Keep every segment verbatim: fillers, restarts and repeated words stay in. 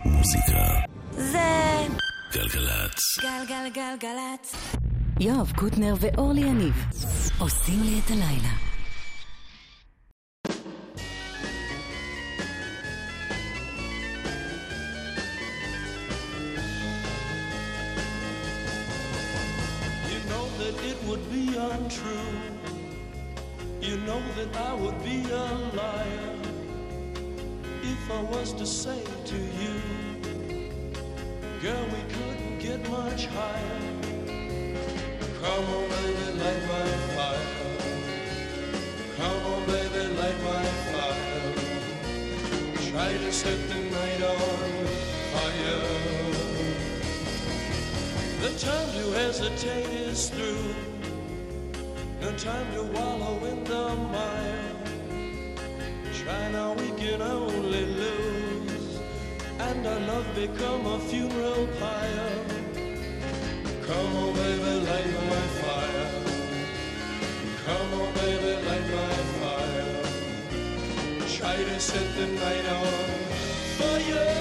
מוזיקה זה גלגלצ. גלגלגלגלצ. יואב קוטנר ואורלי יניב עושים לי את הלילה. You know that it would be untrue. You know that I would be a liar if I was to say to you, girl, we couldn't get much higher. Come on, baby, light my fire. Come on, baby, light my fire. Try to set the night on fire. The time to hesitate is through. No time to wallow in the mire. Try now, we can only lose, and our love become a funeral pyre. Come on, baby, light my fire. Come on, baby, light my fire. Try to set the night on fire.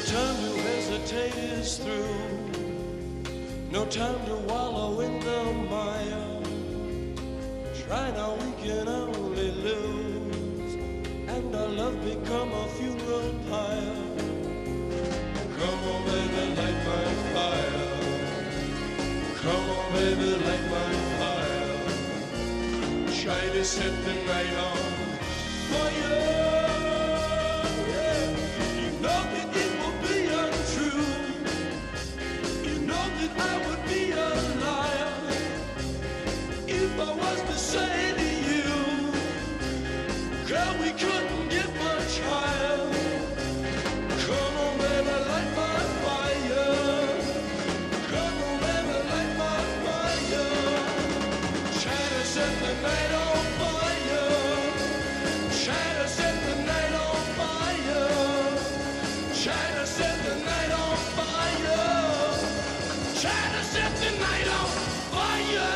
time to hesitate is through. No time to wallow in the mire. Try now, we can only lose, and our love become a funeral pyre. Come on, baby, light my fire. Come on, baby, light my fire. Try to set the night on fire. Yeah. You know that it will be untrue. You know that I would be a liar if I was to say to you, girl, we couldn't get much higher. Come on, baby, light my fire. Come on, baby, light my fire. Try to set the night on fire. Try to set the night on fire. Try to set the night on fire. Try to set the night on fire.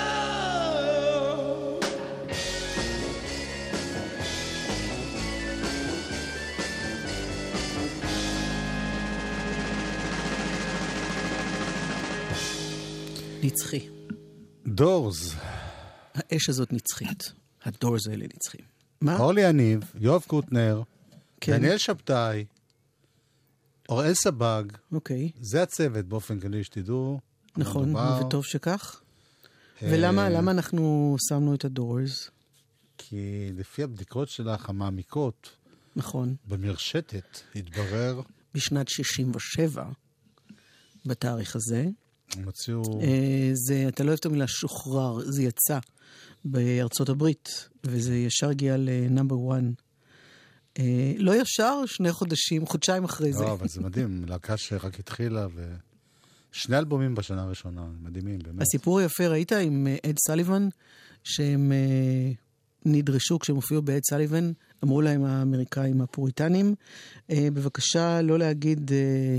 נצחי. דורס. האש הזאת נצחית. הדורס האלה נצחים. מה? אורלי יניב, יואב קוטנר, כן. דניאל שבתאי, אוראל סבג. אוקיי. זה הצוות באופן כללי שתדעו. נכון, מדובר. וטוב שכך. אה, ולמה למה אנחנו שמנו את הדורס? כי לפי הבדיקות שלך המעמיקות, נכון. במרשתת התברר, בשנת שישים ושבע, בתאריך הזה, הם הוציאו... אה, זה, אתה לא אוהב את המילה שוחרר, זה יצא בארצות הברית, וזה ישר הגיע לנאמבר אחד. אה, לא ישר, שני חודשים, חודשיים אחרי זה. לא, אבל זה מדהים, להקה שרק התחילה, ושני אלבומים בשנה הראשונה, מדהימים, באמת. הסיפור היפה, ראית עם אה, אד סליבן, שהם אה, נדרשו, כשהם הופיעו באד סליבן, אמרו להם האמריקאים הפוריטנים, אה, בבקשה לא להגיד... אה,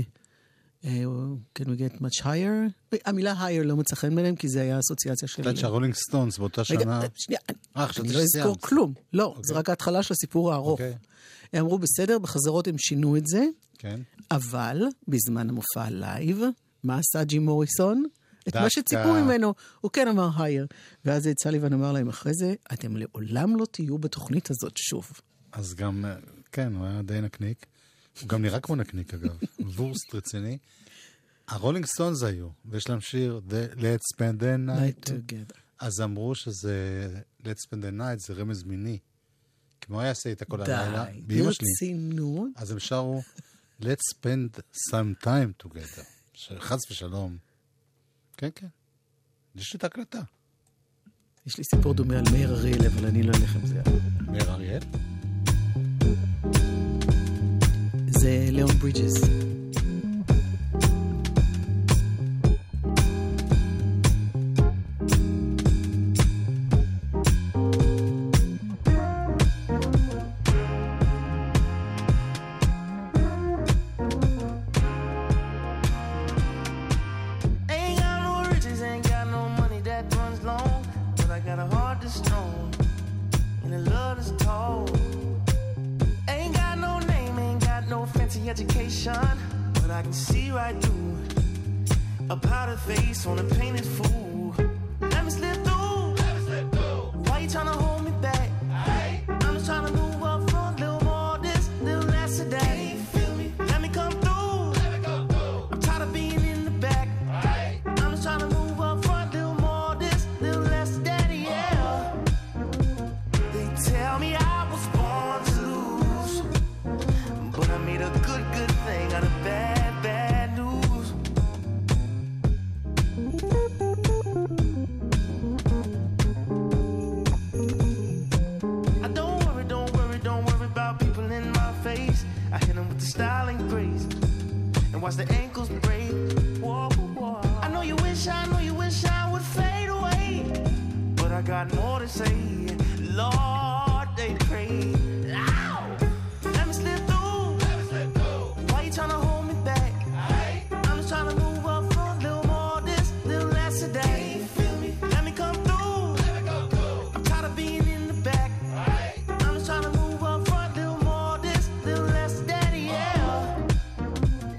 can we get much higher? המילה higher לא מצא חן ביניהם, כי זה היה אסוציאציה של... קצת שהרולינג סטונס באותה שנה... רגע, שנייה, אה, אני לא אזכור כלום. לא, זה רק ההתחלה של הסיפור הארוך. אוקיי. הם אמרו, בסדר, בחזרות הם שינו את זה, כן. אבל בזמן המופע הלייב, מה עשה ג'ים מוריסון? את מה דווקא. שציפו ממנו, הוא כן אמר higher. ואז סליבן אמר להם אחרי זה, אתם לעולם לא תהיו בתוכנית הזאת שוב. אז גם, כן, הוא היה די נקניק. הוא גם נראה כמו נקניק, אגב. וורסט רציני. הרולינג סטונס היו, ויש להם שיר, Let's spend the night together. אז אמרו שזה, Let's spend the night, זה רמז מיני. כמו היה עשה איתה כל הלילה, באמא שלי. ברצינות. אז הם שרו, Let's spend some time together. חס ושלום. כן, כן. יש לי את ההקלטה. יש לי סיפור דומה על מאיר אריאל, אבל אני לא אלך עם זה. מאיר אריאל? זה ליאון ברידג'ס. Education, but I can see right through a powder face on a painted fool. Let me slip through. Let me slip through. Why you trying to hold me back? Hey. I'm just trying to move up front, little more this, little less of that. Hey, feel me? Let me come through. Let me come through. I'm tired of being in the back. Hey. I'm just trying to move up front, little more this, little less of that. Yeah. They tell me I was born to lose, but I made a good, good thing out of bad, bad news. I don't worry, don't worry, don't worry about people in my face. I hit them with the style and grace, and watch the ankles break. Whoa, whoa. I know you wish, I know you wish I would fade away, but I got more to say. Lord, they pray. Ow! Let me slip through. Why you trying to hold me back? Hey. I'm just trying to move up front, little more this, little less of that. Hey, feel me? Let me come through. Let me come through. I'm tired of being in the back. Hey. I'm just trying to move up front, little more this, little less of that. Yeah.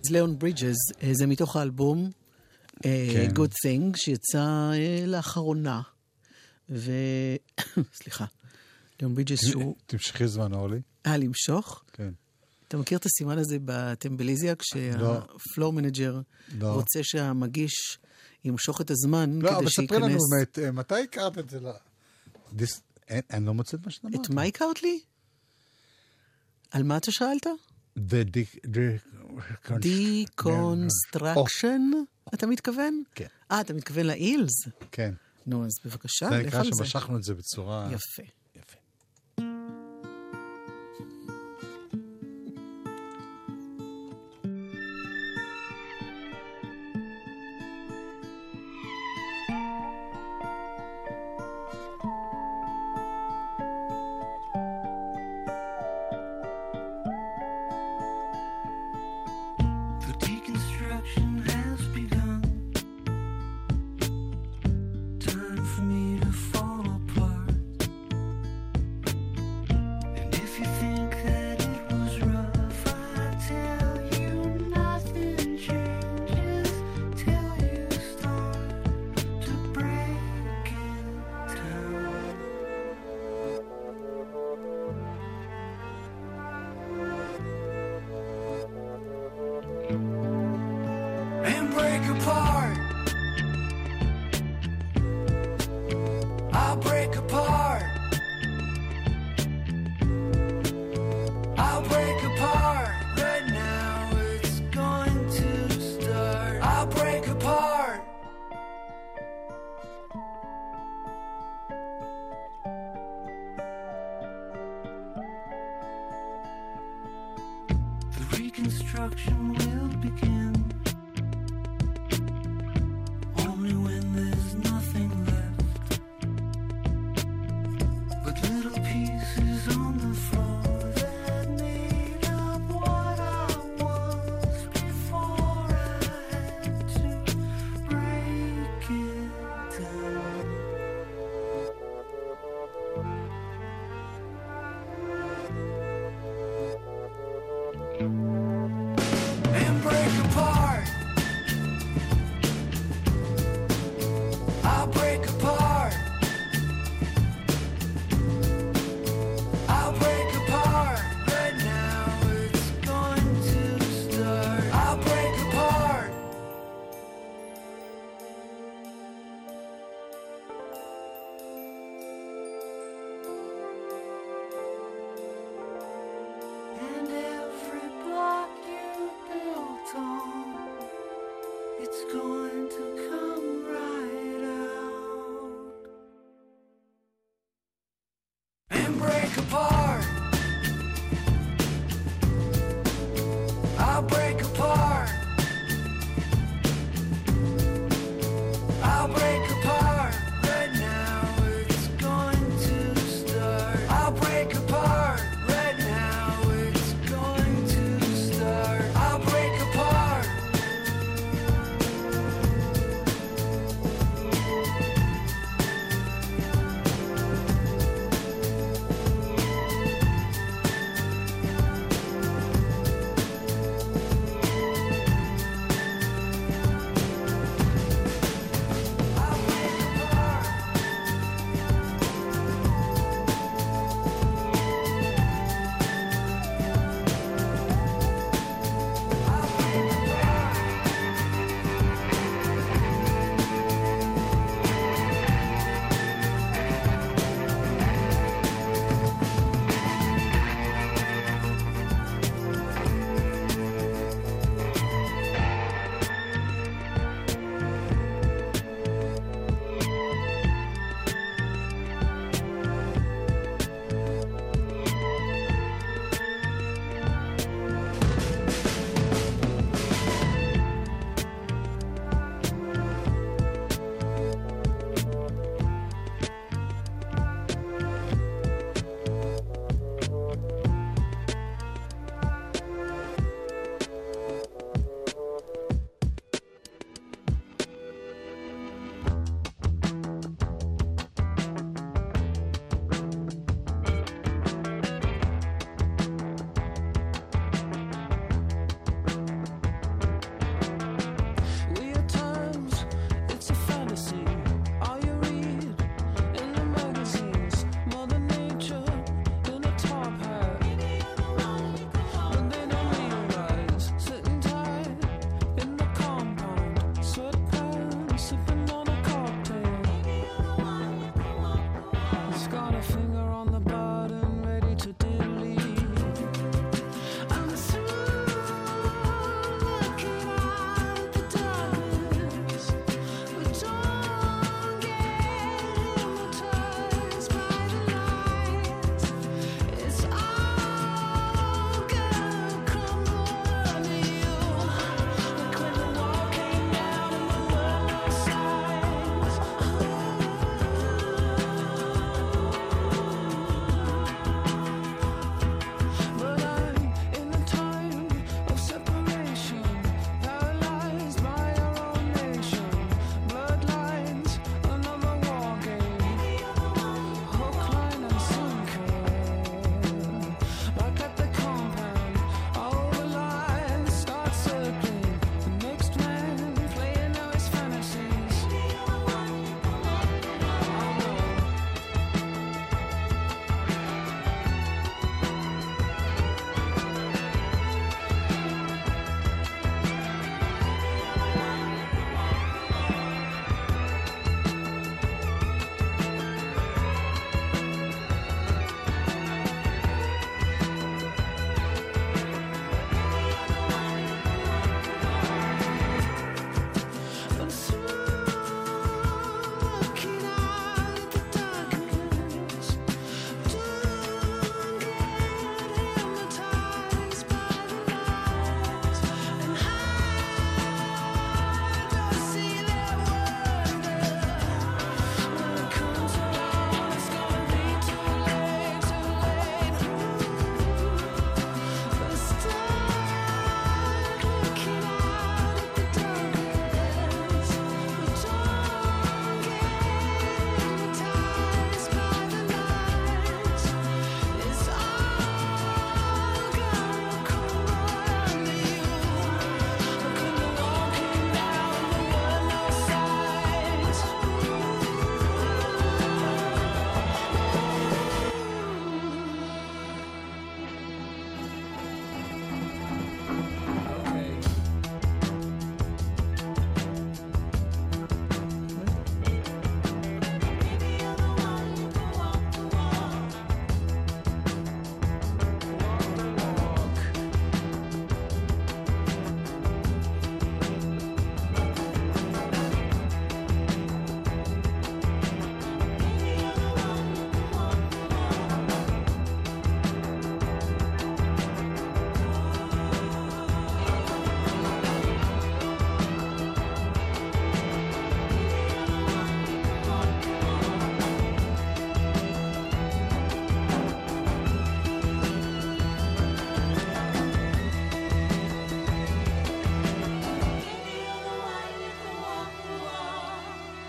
It's Leon Bridges, אה, זה מתוך האלבום אה, כן. Good Thing, שיצא אה, לאחרונה. ו... סליחה. ליאון ברידג'ס שהוא... תמשכי זמן, אורלי. אה, למשוך? כן. אתה מכיר את הסימן הזה בטמבליזיה, כשהפלור מנג'ר רוצה שהמגיש ימשוך את הזמן לא, כדי אבל שייכנס... ספרי לנו, מת, מתי הכרת את זה? דיס... אין, אני לא מוצא את מה שאתה אמרת. את מה הכרת לי? על מה אתה שאלת? The Deconstruction, אתה מתכוון? כן. אה, אתה מתכוון לאילס? כן. נו, אז בבקשה, זה לך נקרא על זה. שמשכנו את זה בצורה... יפה. יפה. The deconstruction has begun. Time for me to fall apart. And if you think that it was rough, I tell you nothing changes till you start to break it down. And break apart. I'll break apart. I'll break apart. Right now it's going to start. I'll break apart. The reconstruction will begin. Only when there's nothing left but little pieces on the floor that made up what I was before I had to break it down. And break apart. I'll break apart. I'll break apart. Right now it's going to start. I'll break apart. And every block you built on, it's going to come right out and break apart. I'll break apart. I'll break apart. Right now it's going to start. I'll break apart. Right now it's going to start. I'll break apart.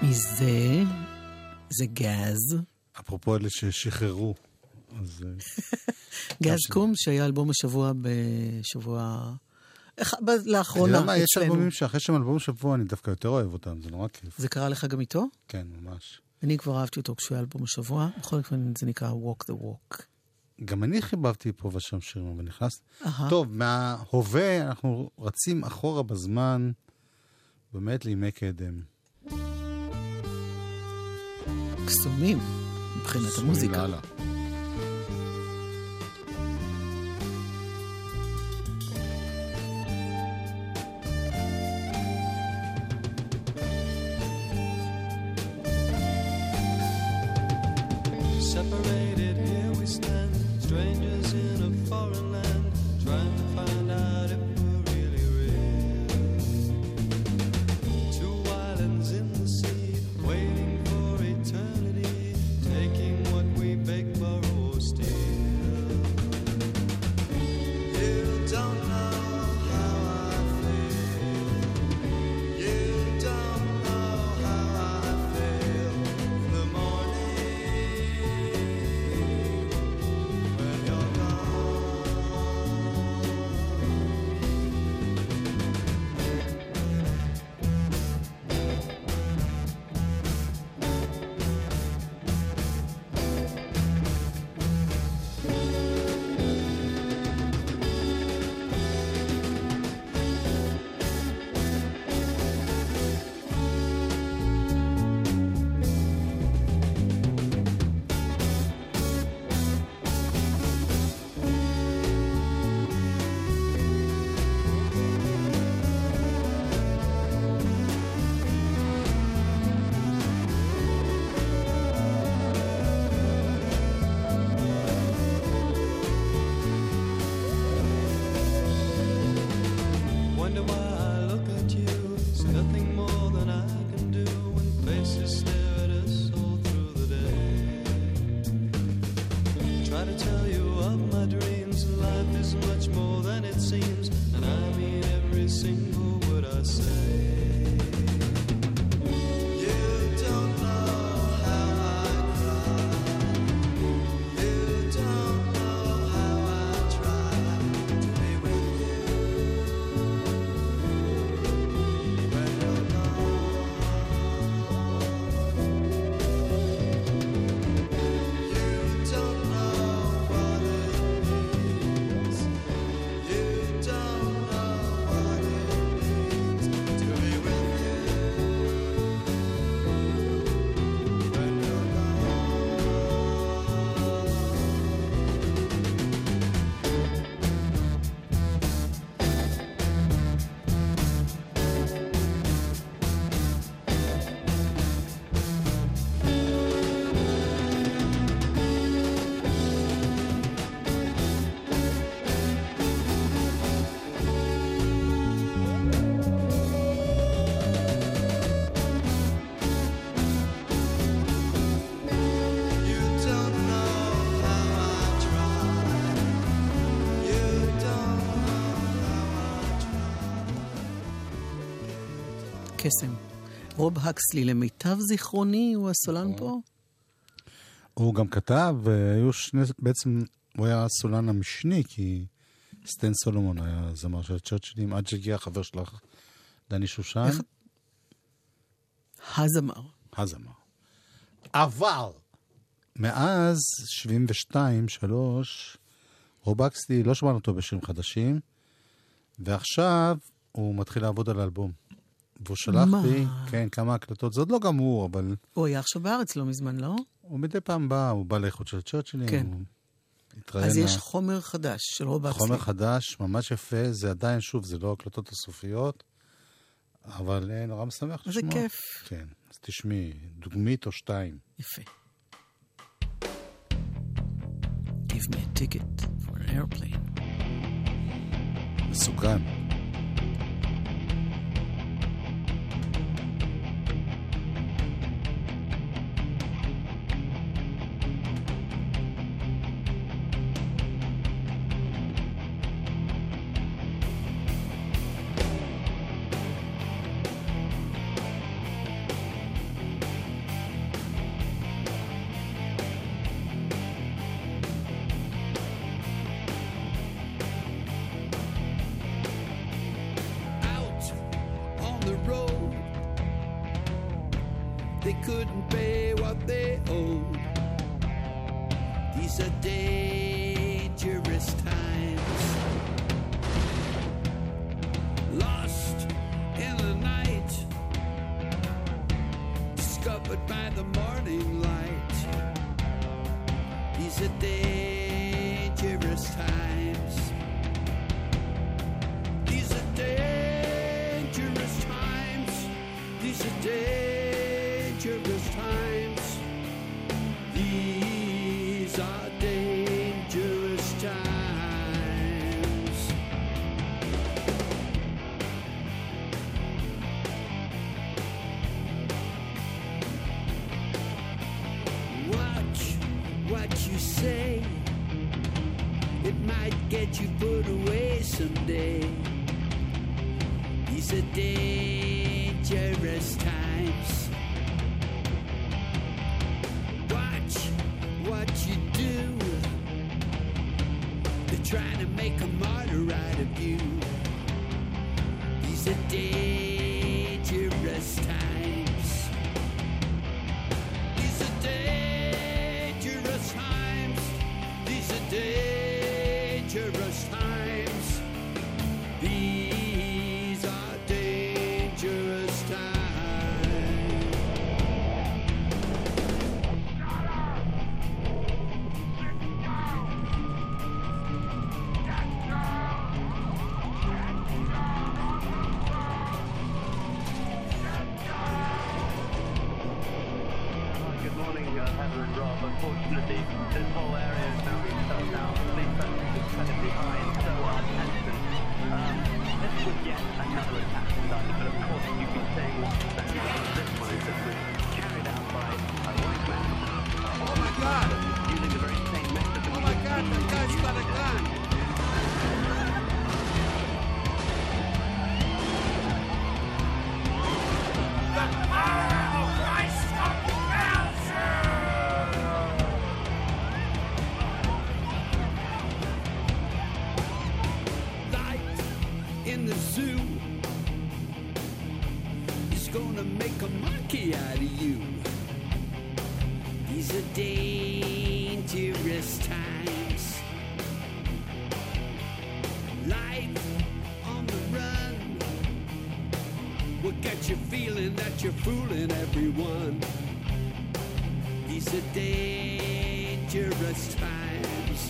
מי זה? זה גז. אפרופו אלה ששחררו. אז... גז קום, שהיה אלבום השבוע בשבוע... לאחרונה, אצלנו. יש אלבומים שאחרי שהם אלבום שבוע, אני דווקא יותר אוהב אותם, זה נורא כיף. זה קרה לך גם איתו? כן, ממש. אני כבר אהבתי אותו כשהוא היה אלבום השבוע, בכל אופן זה נקרא Walk the Walk. גם אני חיבבתי פה ושם שירים, ונכנס... טוב, מההווה אנחנו רצים אחורה בזמן, באמת לימי קדם. קסומים, מבחינת המוזיקה. Separated, here we stand, strangers in a foreign land, trying to find out if we're really real. Two islands in the sea, waiting for eternity, taking what we beg, borrow, or steal. You don't know how I feel. You don't know how I feel in the morning. When you're wonder why I look at you. It's nothing more than I can do when faces stare at us all through the day. Try to tell you of my dreams. Life is much more than it seems, and I mean every single word I say. You don't know how I cry. You don't know how I try to be with you. When you're gone, you don't know what it means. You don't know what it means to be with you. When you're You don't know how I try. You don't know how I try. קסם. רוב הקסלי, למיטב זיכרוני, הוא הסולן פה? הוא גם כתב, והיו שני, בעצם הוא היה הסולן המשני, כי סטן סולומון היה זמר של צ'רצ'ילים, עד שהגיע החבר שלך, דני שושן. איך- הזמר. הזמר. אבל, מאז שבעים ושתיים שלוש, רוב אקסלי לא שמענו אותו בשירים חדשים, ועכשיו הוא מתחיל לעבוד על האלבום. והוא שלח מה? לי, כן, כמה הקלטות, זה עוד לא גמור, אבל הוא היה עכשיו בארץ לא מזמן, לא? הוא מדי פעם בא, הוא בא לאיכות של צ'רצ'ילים, כן. הוא התראיין. אז יש חומר חדש של רוב הקסלי. חומר חדש, ממש יפה, זה עדיין, שוב, זה לא הקלטות הסופיות, אבל אה, נורא משמח זה לשמוע. כיף. כן, אז תשמעי, דוגמית או שתיים. יפה. Give me a ticket for an airplane. מסוכן. couldn't pay what they owed. These are dangerous times. Lost in the night, discovered by the morning light. These are dangerous times. These are dangerous times. These are dangerous times. These are dangerous times. Watch what you say. It might get you put away someday. These are dangerous times. Watch what you do. They're trying to make a martyr out of you. These are dangerous times. These are dangerous times. These are dangerous times. These are dangerous times. Good morning, uh, Heather and Rob. Unfortunately, this whole area is now being shut down. Police presence is incredibly high and so are tension. Um, this was yet another attack in London, but of course you've been saying what that this one is that was carried out by a white man. Oh my God! Using the very same method that Oh my God, that guy's got a gun! Life in the zoo is gonna make a monkey out of you. These are dangerous times. Life on the run will get you feeling that you're fooling everyone. These are dangerous times.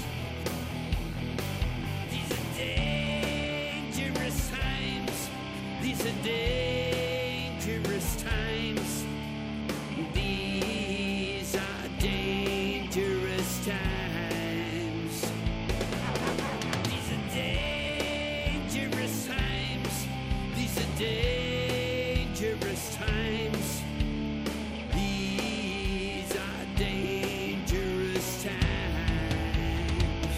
These are dangerous times. These are dangerous times. These are dangerous times. These are dangerous times. These are dangerous times. These are dangerous times.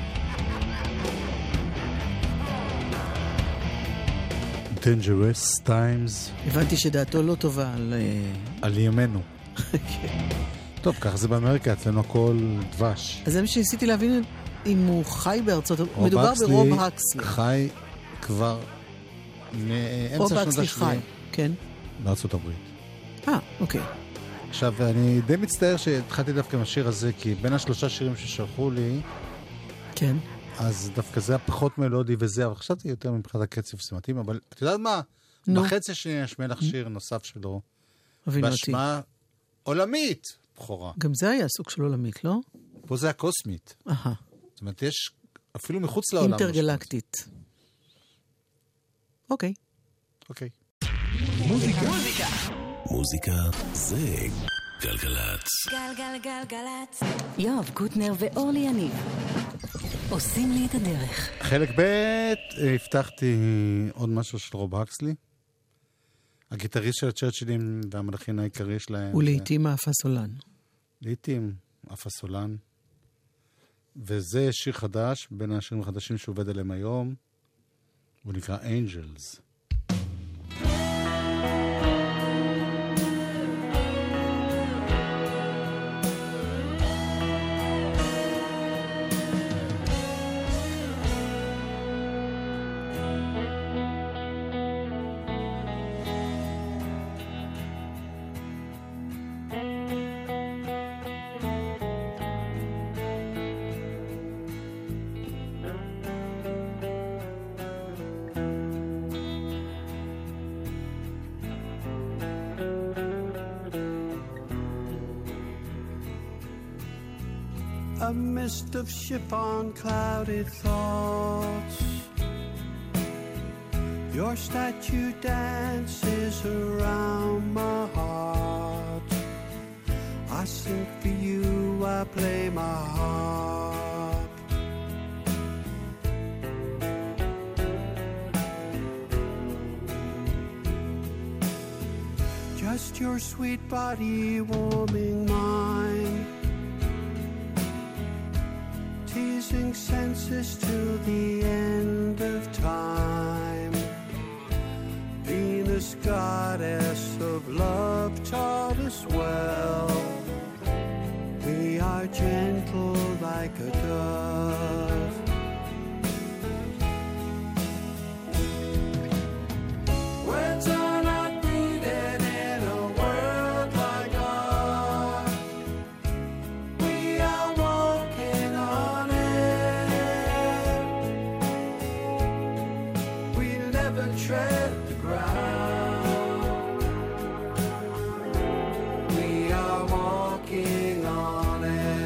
Dangerous Times הבנתי שדעתו לא טובה על... אה, על ימינו. טוב, כך זה באמריקה, אצלנו הכל דבש. אז זה מה שניסיתי להבין אם הוא חי בארצות... רוב מדובר הקסלי ברוב הקסלי. חי כבר מאמצע רוב שנות הקסלי חי, ה-שבעים כן. בארצות הברית. אה, אוקיי. עכשיו, אני די מצטער שהתחלתי דווקא עם השיר הזה, כי בין השלושה שירים ששלחו לי, כן. אז דווקא זה היה פחות מלודי וזה, אבל חשבתי יותר מבחינת הקצב סימטים, אבל את יודעת מה? נו. בחצי השני נשמע לך שיר נוסף שלו, הבינו אותי. בהשמעה עולמית, בכורה. גם זה היה סוג של עולמית, לא? פה זה הקוסמית. אהה. זאת אומרת, יש אפילו מחוץ לעולם. אינטרגלקטית. אוקיי. אוקיי. מוזיקה זה גלגלצ. גלגלגלגלצ. יואב קוטנר ואורלי יניב עושים לי את הדרך. חלק ב' הבטחתי עוד משהו של רוב הקסלי. הגיטריסט של הצ'רצ'ילים והמלחין העיקרי שלהם. ולעיתים האפסולן. לעיתים אפסולן. וזה שיר חדש, בין השירים החדשים שעובד עליהם היום. הוא נקרא Angels. a mist of chiffon clouded thoughts. Your statue dances around my heart. I sing for you, I play my harp. Just your sweet body warming mine, teasing senses till the end of time. Venus, goddess of love, taught us well. We are gentle like a dove. Words are not needed in a world like ours. We are walking on air. We'll never tread the ground. We are walking on air.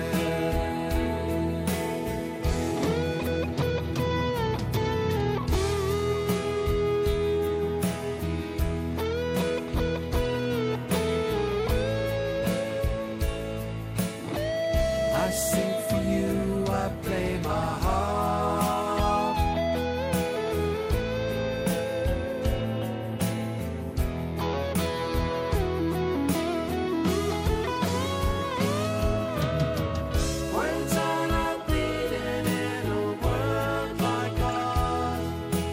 I sing for you, I play my harp. Words are not needed in a world like ours.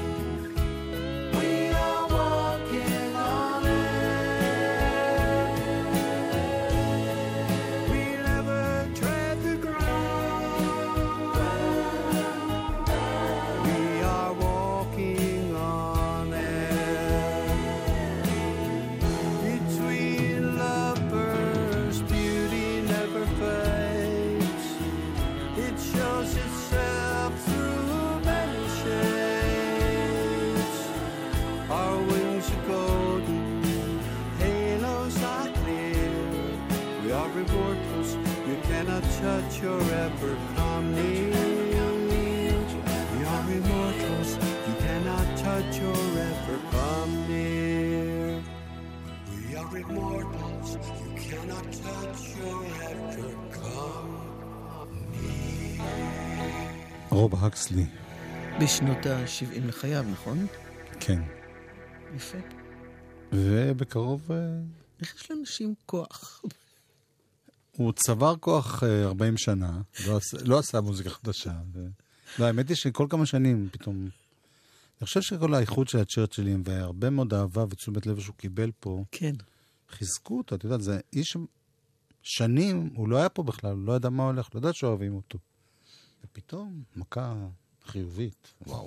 We are walking on air. We'll never tread the ground. We are walking on air. Between lovers, beauty never fades. It shows itself through many shades. Our wings are golden, halos are clear. We are immortals, you cannot touch or ever come near. We are immortals, you cannot touch or ever come near. We are immortals, you cannot touch or ever come near. רוב הקסלי, בשנות ה-שבעים לחייו, נכון? כן. יפה. ובקרוב אה, איך יש לאנשים כוח? הוא צבר כוח אה, ארבעים שנה, לא עשה, לא עשה מוזיקה חדשה. ו... לא, האמת היא שכל כמה שנים פתאום... אני חושב שכל האיחוד של הצ'רצ'ילים והרבה מאוד אהבה ותשומת לב שהוא קיבל פה, כן. חיזקו אותו, את יודעת, זה איש שנים, הוא לא היה פה בכלל, הוא לא ידע מה הולך, לא ידע שאוהבים אותו. ופתאום מכה חיובית, וואו.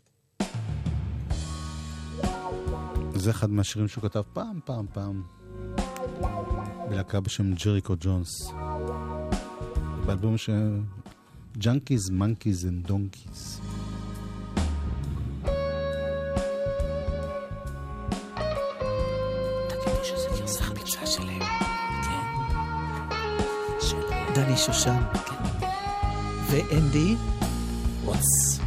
זה אחד מהשירים שהוא כתב פעם, פעם, פעם, בלהקה בשם ג'ריקו ג'ונס. באלבום ש... Junkies, Monkeys and Donkeys. תגידי שזה גרסה חדשה שלהם. כן. דני שושן. ואנדי ווטס.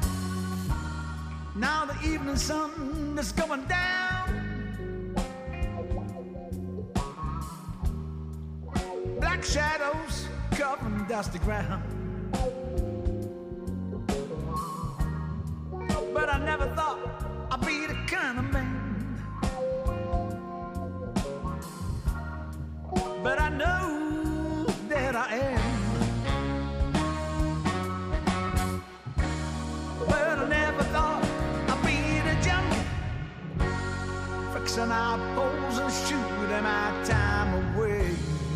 Now the evening sun is going down. Black shadows covering dusty ground. But I never thought I'd be the kind of man. But I know that I am. But I never thought I'd be the junkie, fixing our poles and shooting my time away.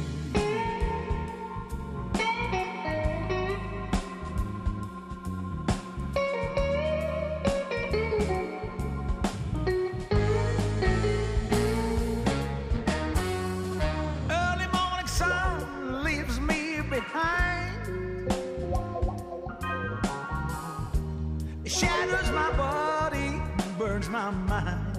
Early morning sun leaves me behind. It shatters my body, burns my mind.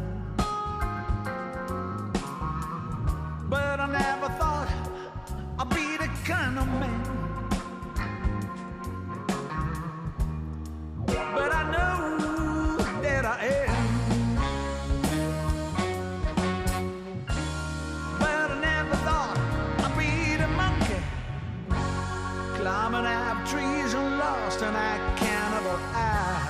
But I never thought I'd be the kind of man in that cannibal eye.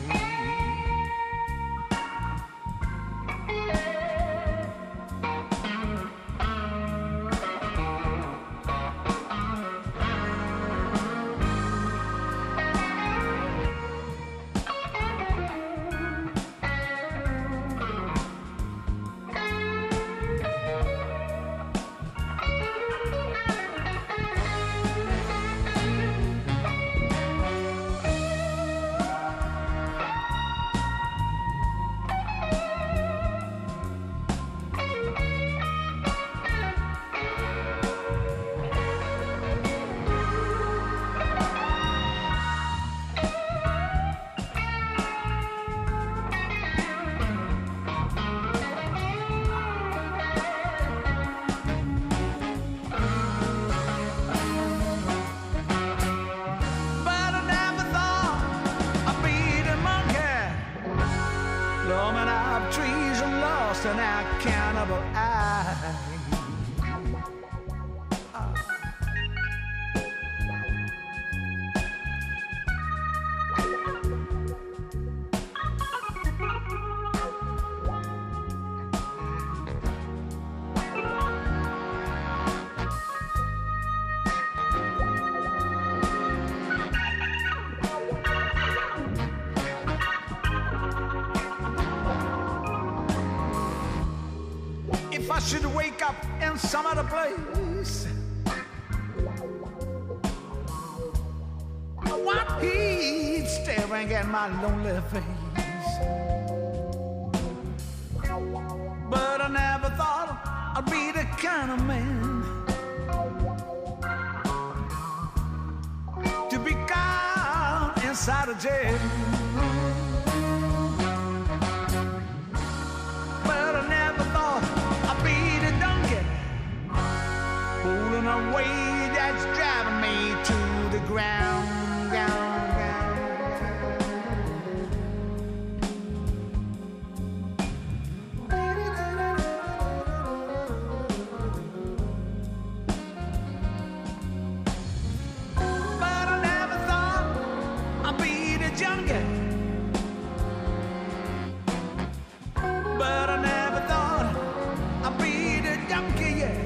I should wake up in some other place, while he's staring at my lonely face. But I never thought I'd be the kind of man to be caught inside a jail. But I never thought I'd be the donkey pulling a way that's driving me to the ground, ground, ground. But I never thought I'd be the junkie. But I never thought I'd be the donkey, yeah.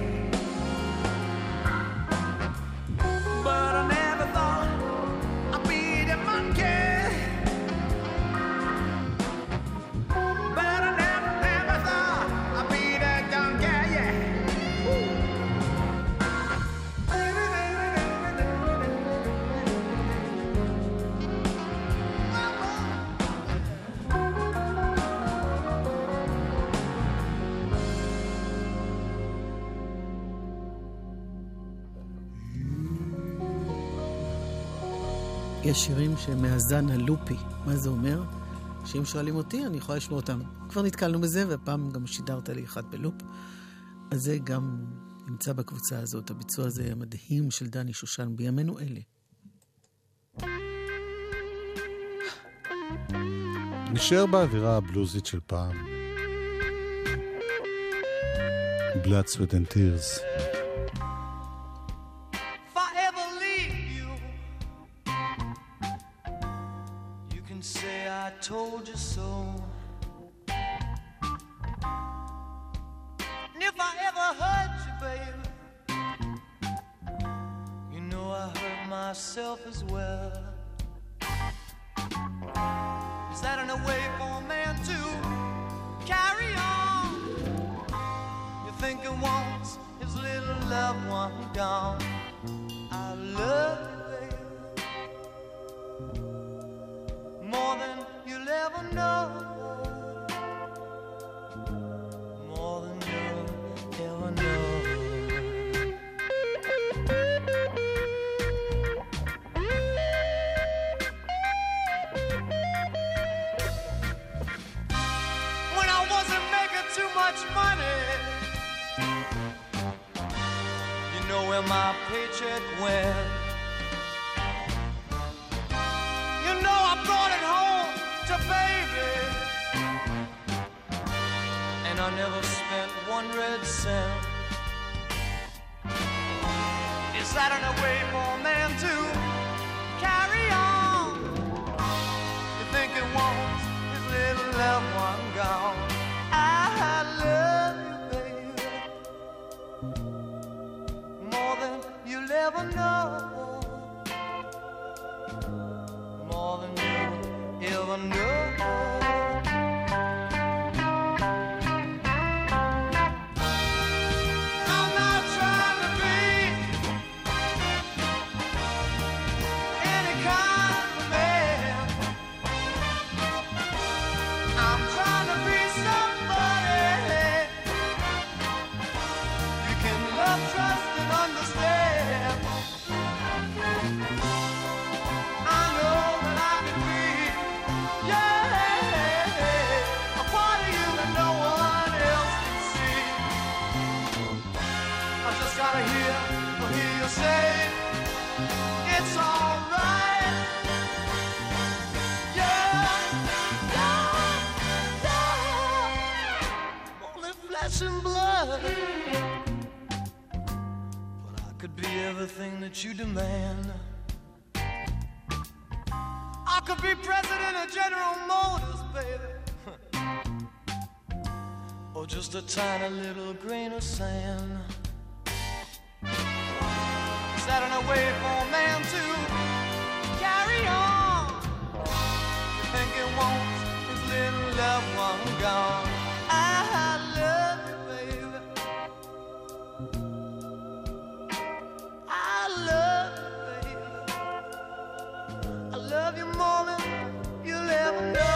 But I never thought I'd be the monkey. But I never, never thought I'd be the donkey, yeah. יש שירים שמהזן הלופי. מה זה אומר? שאם שואלים אותי, אני יכולה לשמוע אותם. כבר נתקלנו בזה, והפעם גם שידרת לי אחד בלופ. אז זה גם נמצא בקבוצה הזאת. הביצוע הזה המדהים של דני שושן בימינו אלה. נשאר באווירה הבלוזית של פעם. Blood, Sweat and Tears. I told you so. And if I ever hurt you, baby, you know I hurt myself as well. Is that in a way for a man to carry on? You think he wants his little loved one gone? I love you, baby, more than you'll ever know, more than you'll ever know. When I wasn't making too much money, you know where my paycheck went. You know I brought it home to baby, and I never spent one red cent. Is that in a way for a man to carry on? never know. I'm not trying to be any kind of man. I'm trying to be somebody you can love, trust, and understand. I know that I can be, yeah, a part of you that no one else can see. I just gotta hear, hear you say it's alright. Yeah, yeah, yeah. Only flesh and blood, but I could be everything that you demand. I could be president of General Motors, baby. Or just a tiny little grain of sand. Standing away for a man to carry on. You think he wants his little loved one gone. I love you, baby. I love you, baby. I love you more than you'll ever know.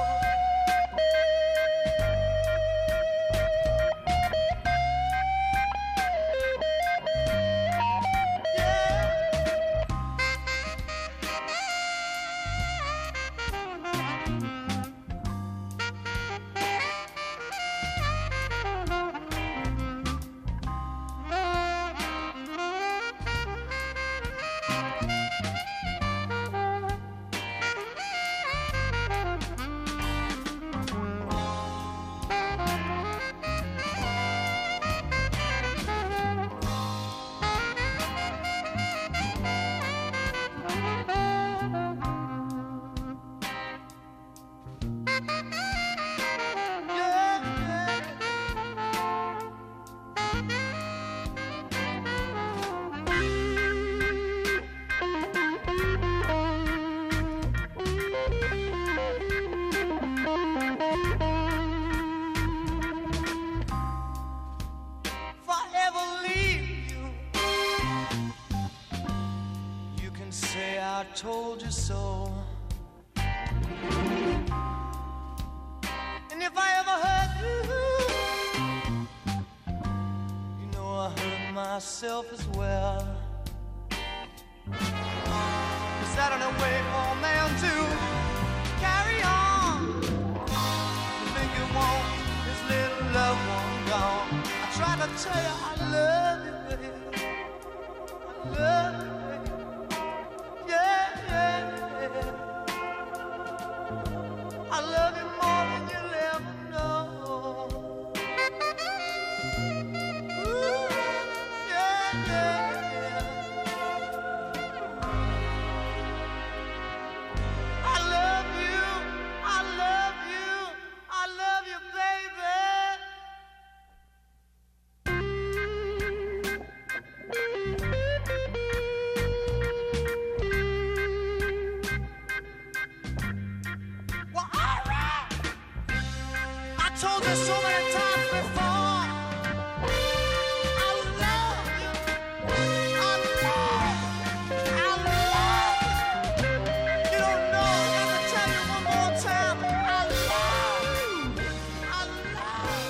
Told you so. And if I ever hurt you, you know I hurt myself as well. Is that an way for a man to carry on? You think you want his little loved one gone? I try to tell you I love you, baby. I love you. I love you more than you'll ever know. Ooh, yeah, yeah, yeah. I love you, I love you, I love you, baby. Told you so many times before, I love you, I love you, I love you. You don't know, let me tell you one more time, I love you, I love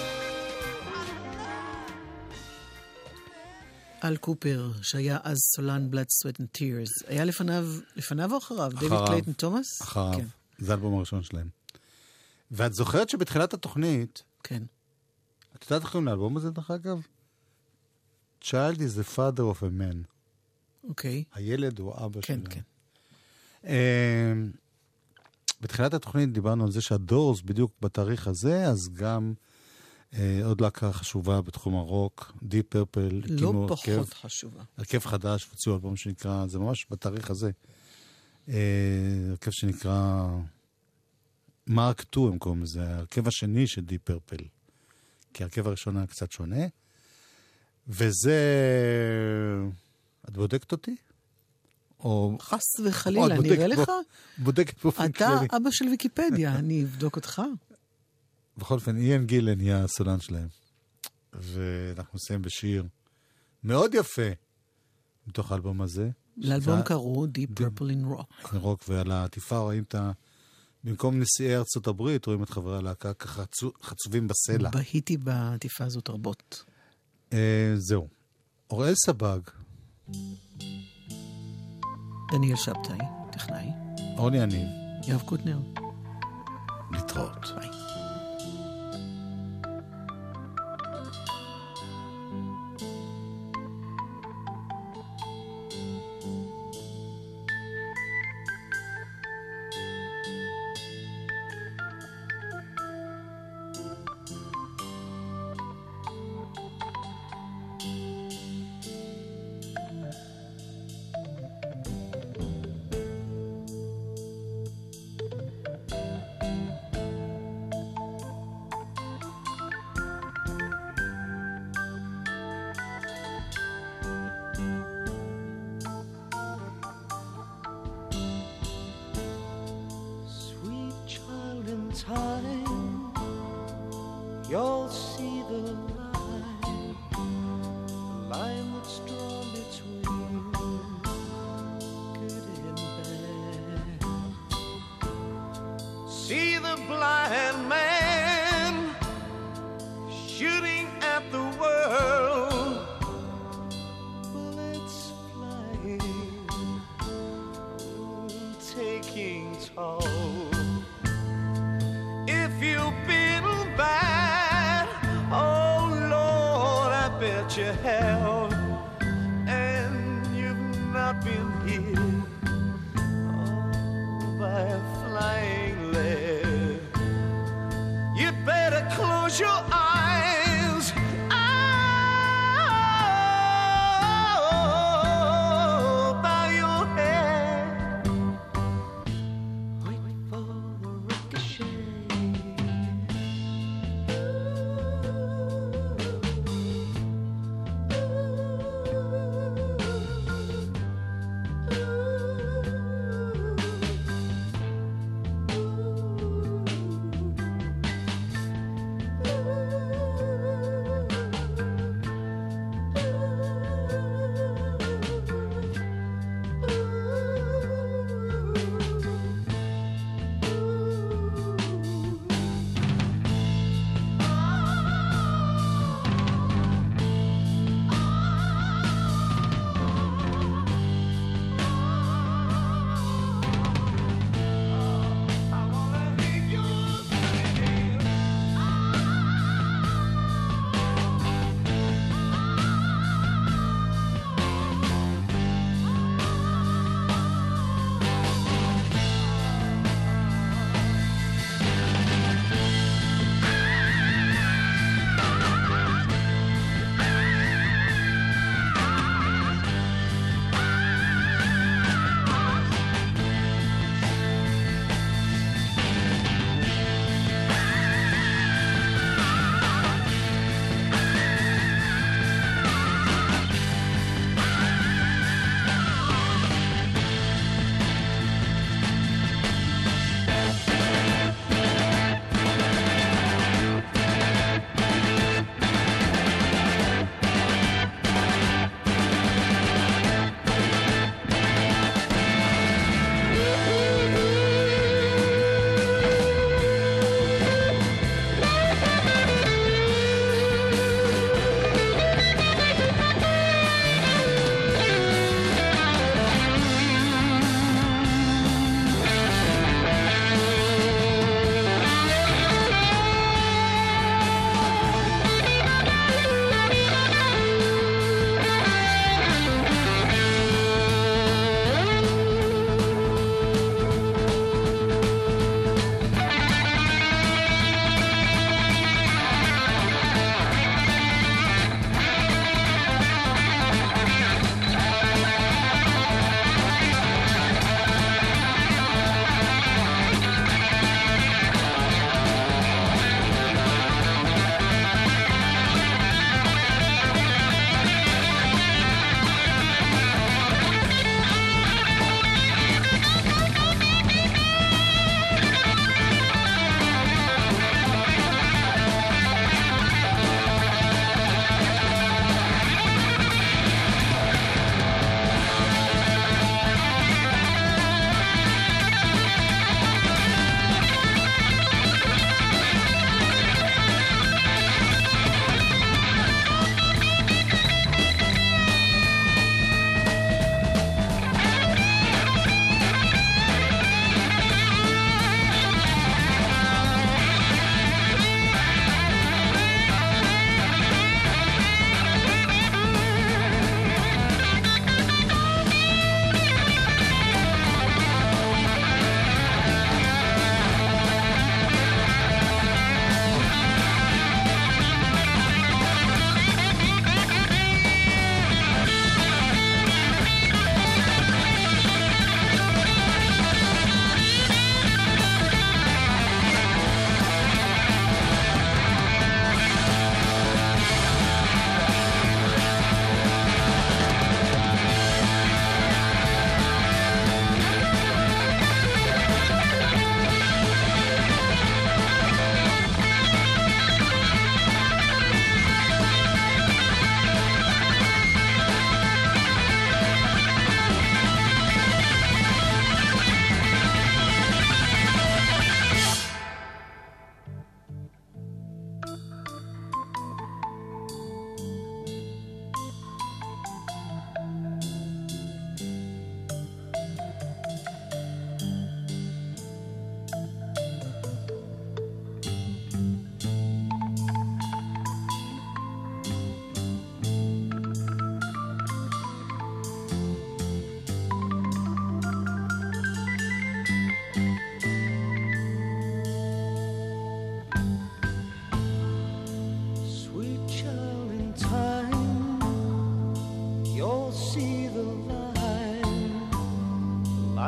you. אל קופר, שהיה אז סולן Blood, Sweat and Tears, היה לפניו, לפניו או אחריו? אחריו. דיוויד קלייטון תומאס? אחריו, כן. זה האלבום הראשון שלהם. ואת זוכרת שבתחילת התוכנית, כן. את יודעת איך קוראים לאלבום הזה, דרך אגב? Child is the father of a man. אוקיי. הילד הוא אבא כן, שלהם. כן. Uh, בתחילת התוכנית דיברנו על זה שהדורס בדיוק בתאריך הזה, אז גם uh, עוד להקה חשובה בתחום הרוק, דיפ פרפל. לא פחות חשובה. הרכב חדש, הוציאו אלבום שנקרא, זה ממש בתאריך הזה. Uh, הרכב שנקרא מרק טו, הם קוראים לזה, הרכב השני של דיפ פרפל. כי הרכב הראשון היה קצת שונה. וזה... את בודקת אותי? או... חס וחלילה, נראה לך? בודקת באופן כללי. אתה אבא של ויקיפדיה, אני אבדוק אותך. בכל אופן, איין גילן יהיה הסולן שלהם. ואנחנו נסיים בשיר מאוד יפה מתוך האלבום הזה. לאלבום קראו Deep Purple in Rock. רוק, ועל העטיפה רואים את ה... במקום נשיאי ארצות הברית, רואים את חברי הלהקה ככה חצובים בסלע. בהיתי בעטיפה הזאת רבות. זהו. אוראל סבג. דניאל שבתאי, טכנאי. אורלי יניב. יואב קוטנר. להתראות. ביי. time, you'll see the line, the line that's drawn between good and bad. See the blind man shooting at the world, bullets flying, taking toll. If you've been bad, oh Lord, I bet you have, and you've not been hit oh, by a flying lead. You'd better close your eyes. Oh, bow your head. Wait for the ricochet. Ooh.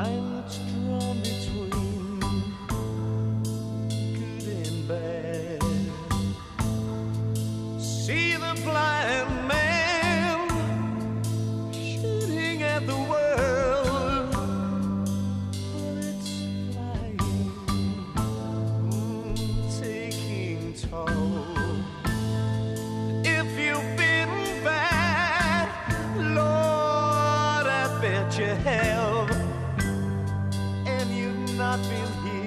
line that's drawn between good and bad. See the blind man shooting at the world, bullets flying, mm, taking toll. If you've been bad, Lord, I bet you have, and you've not been here